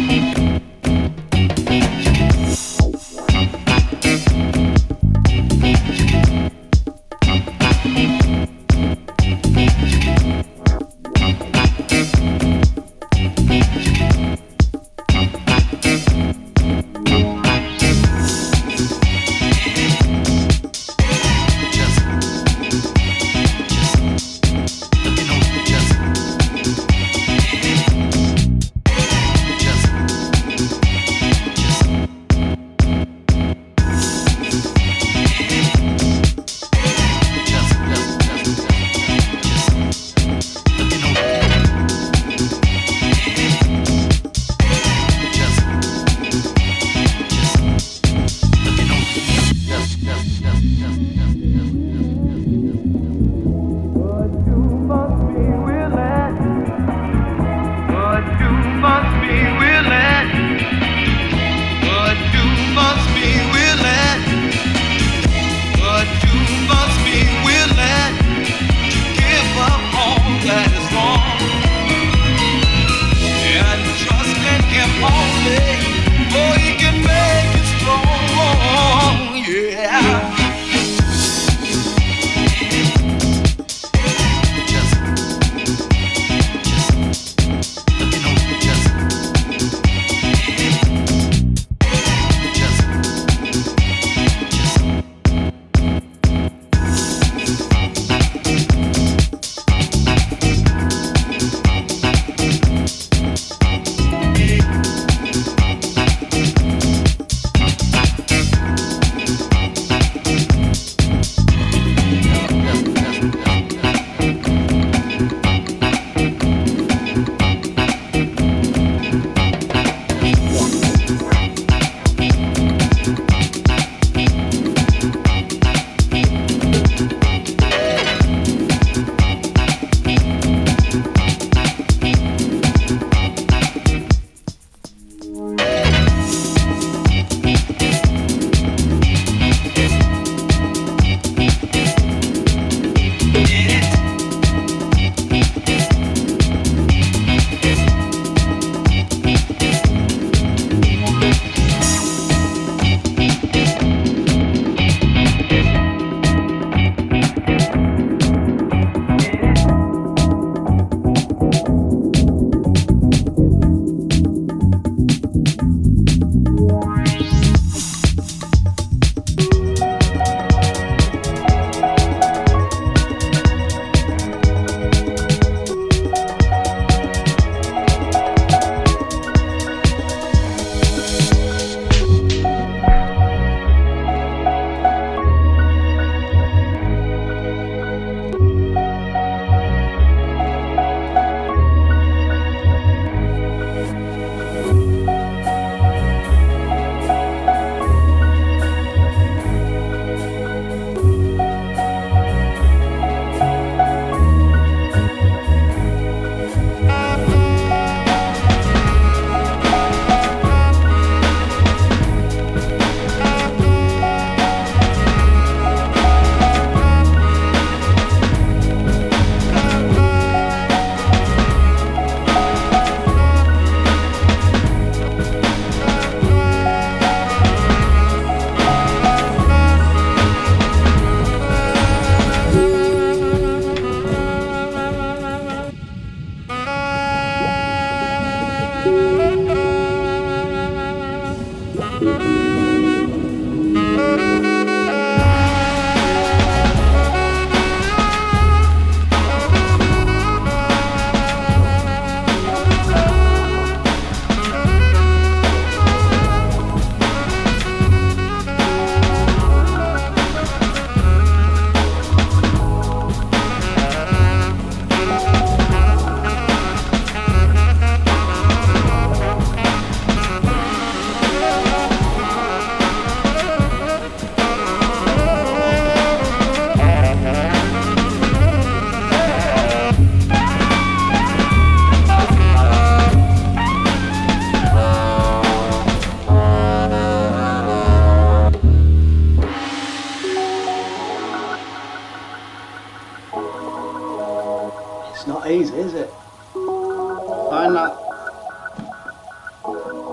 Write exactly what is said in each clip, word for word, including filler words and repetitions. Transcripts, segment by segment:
It's not easy, is it? Find that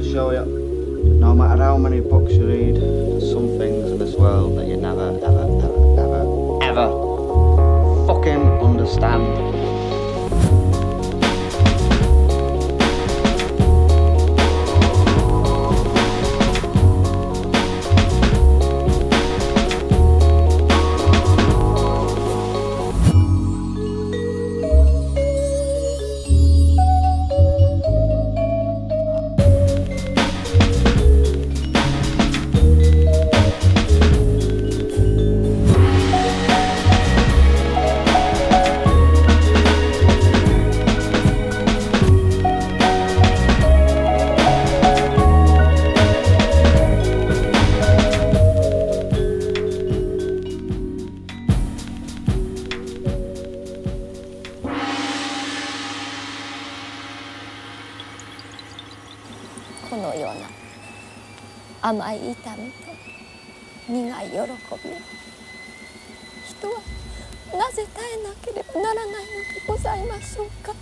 show you, no matter how many books you read, there's some things in this world that you never, ever, ever, ever, ever fucking understand. 甘い痛みと苦い喜びを人はなぜ耐えなければならないのでございましょうか。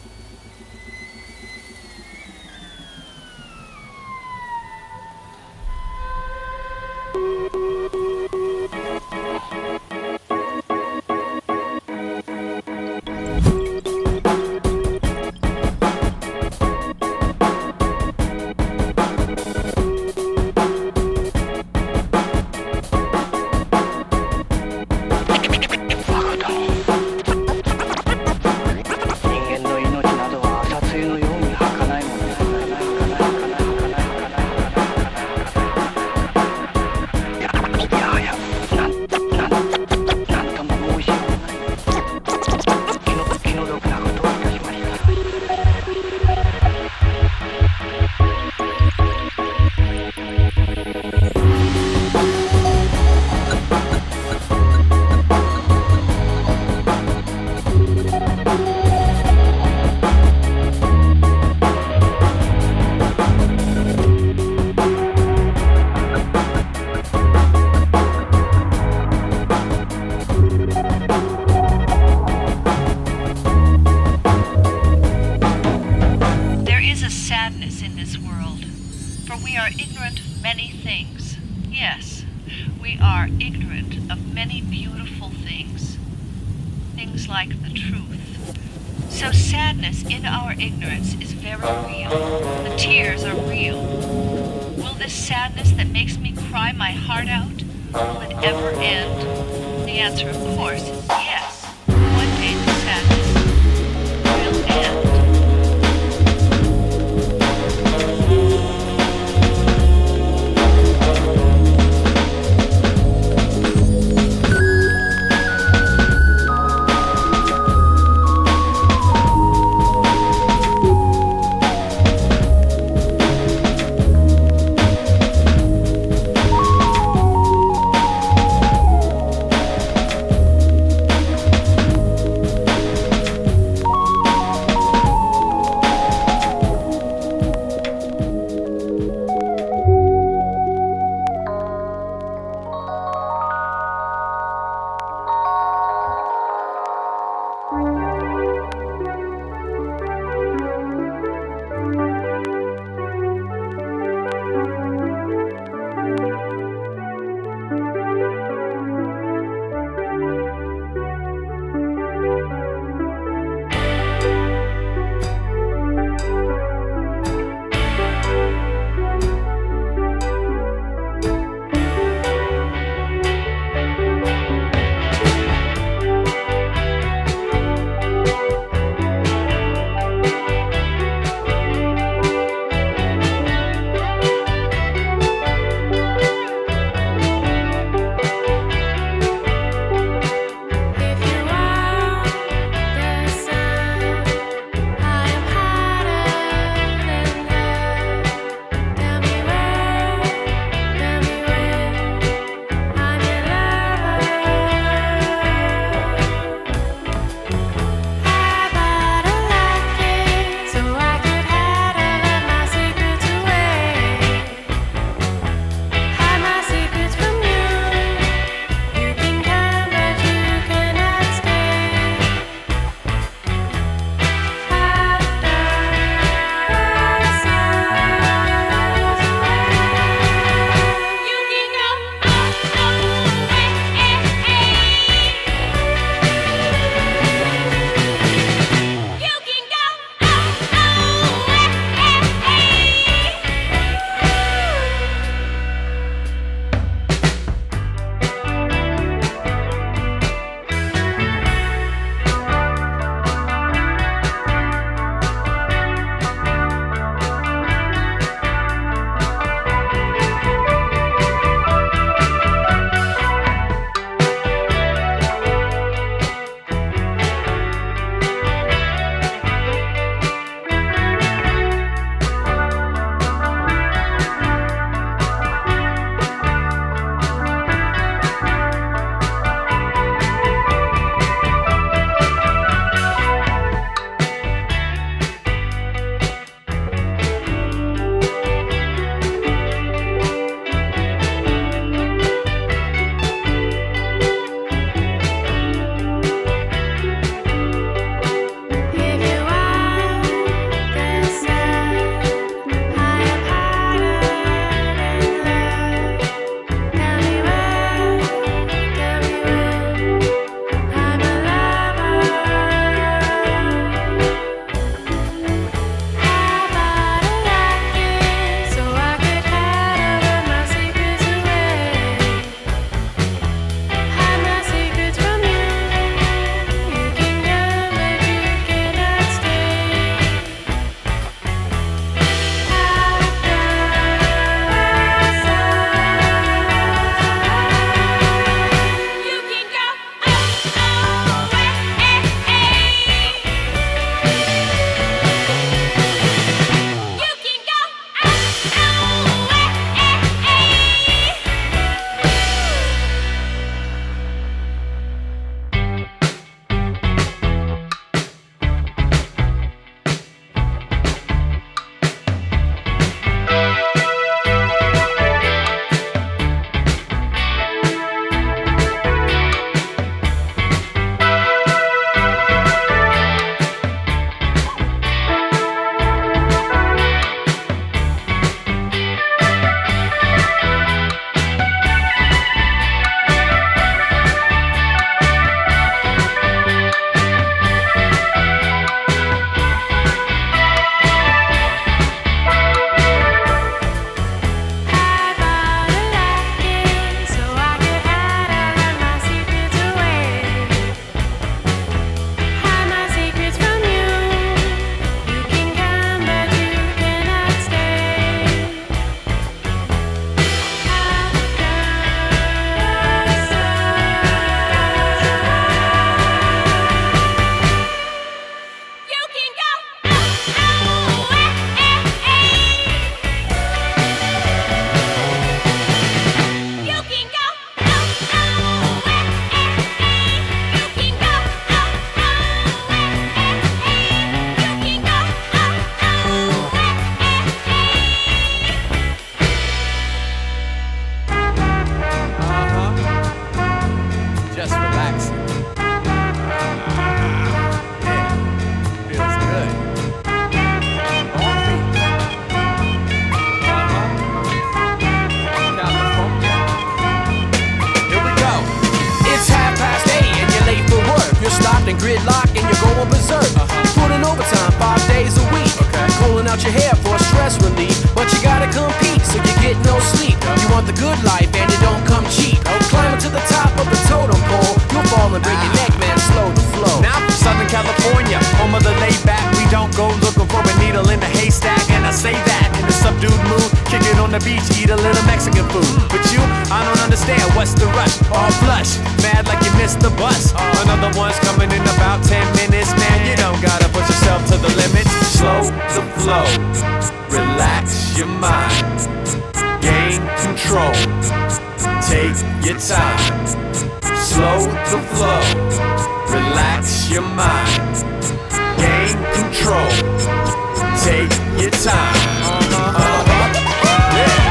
out your hair for stress relief, but you gotta compete, so you get no sleep. You want the good life and it don't come cheap. Climbing to the top of the totem pole, you'll fall and break your neck, man, slow the flow. Now from Southern California, home of the laid back, we don't go looking for a needle in the haystack. And I say that in a subdued mood, kick it on the beach, eat a little Mexican food. But you, I don't understand, what's the rush? All flush, mad like you missed the bus. Another one's coming in about ten minutes, man, you don't gotta push yourself to the limit. Slow the flow, relax your mind, gain control, take your time. Slow the flow, relax your mind, gain control, take your time. Uh-huh. Uh-huh. Yeah.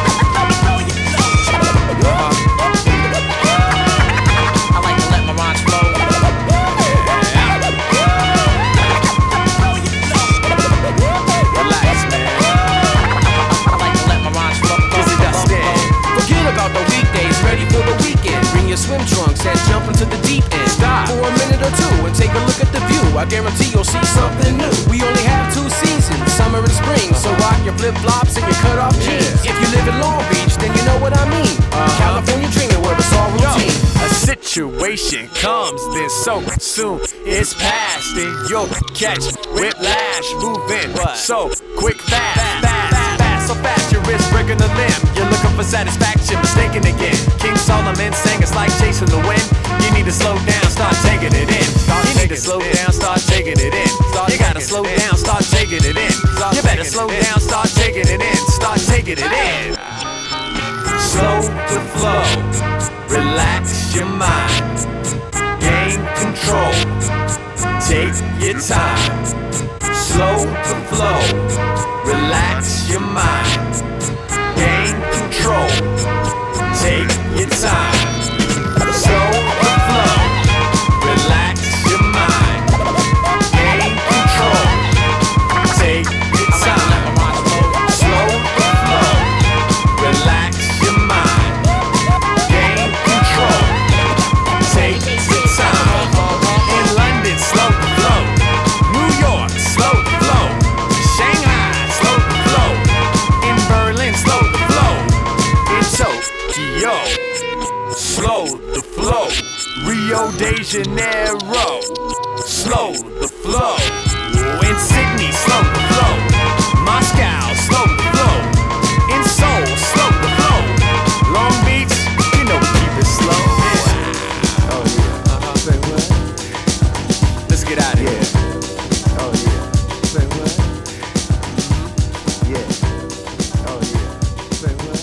I like to let my rhymes flow. Relax, man. I like to let my rhymes flow. Dizzy Dustin. Forget about the weekdays, ready for the weekend. Bring your swim trunks and jump into the deep end. Stop for a minute or two and take a look at the view. I guarantee you'll see something new. We only have two seasons, summer and spring. So rock your flip-flops and your cut-off jeans. Yeah. If you live in Long Beach, then you know what I mean. Uh-huh. California dreaming where it's all Yo, routine. a situation comes, then so soon it's past, then you'll catch whiplash, moving so quick, fast, fast, fast, so fast your wrist breaking a limb. You're looking for satisfaction, mistaken again. King Solomon sang it's like chasing the wind. You need to slow down, start taking it in. You need to slow down, start taking it in. You gotta slow down, start taking it in. You better slow down, start taking it in. Start taking it in. Slow the flow, relax your mind, gain control, take your time. Slow the flow, relax your mind, gain control, take your time. Slow the flow, relax your mind, gain control, take your time. Slow the flow, relax your mind, gain control, take your time. In London, slow the flow. New York, slow the flow. Shanghai, slow the flow. In Berlin, slow the flow. In Tokyo, slow the flow. Rio de Janeiro, slow the flow. In Sydney, slow the flow. Moscow, slow the flow. In Seoul, slow the flow. Long Beach, you know we keep it slow. Yeah. Oh yeah. Uh-huh. Say what? Let's get out of here. Yeah. Oh yeah. Say what? Yeah. Oh yeah. Say what?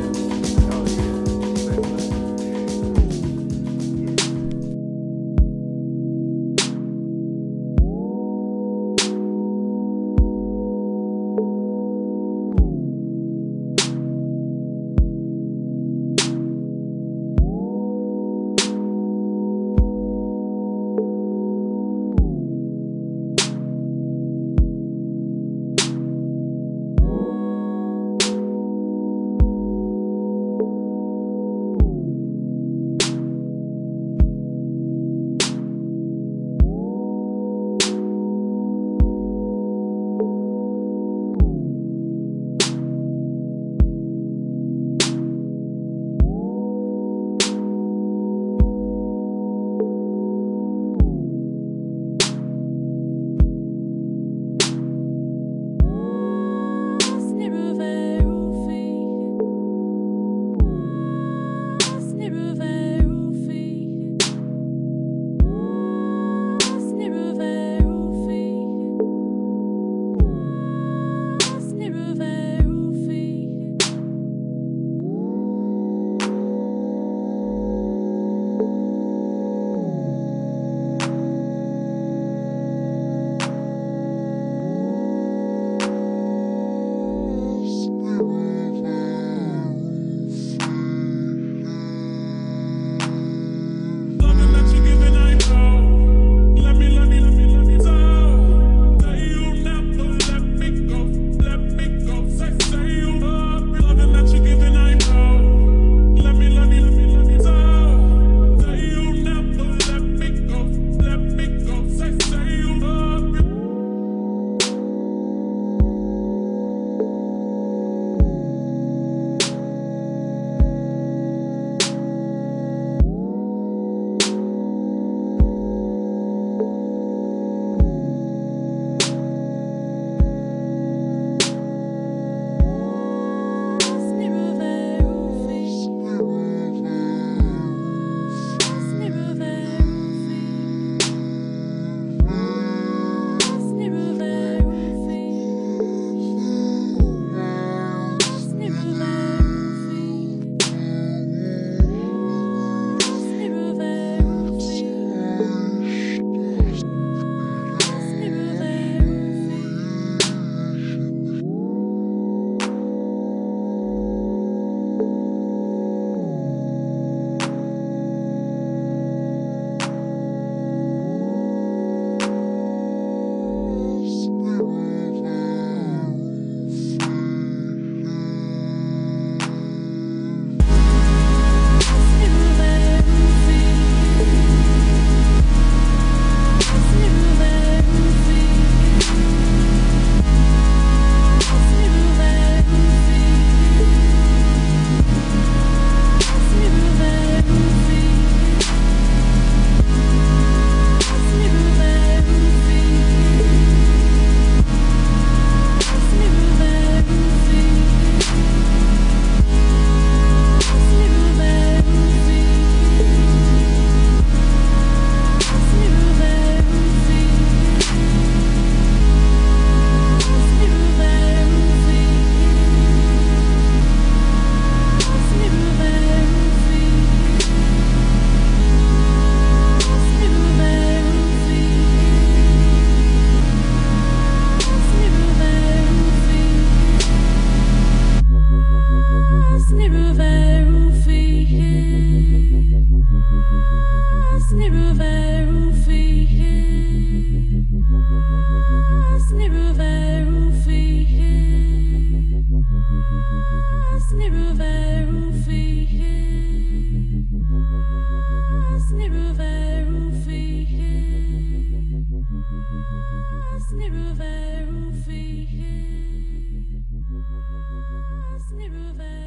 Yeah. Oh yeah. Say what? Yeah. Sniruveru fihe, Sniruveru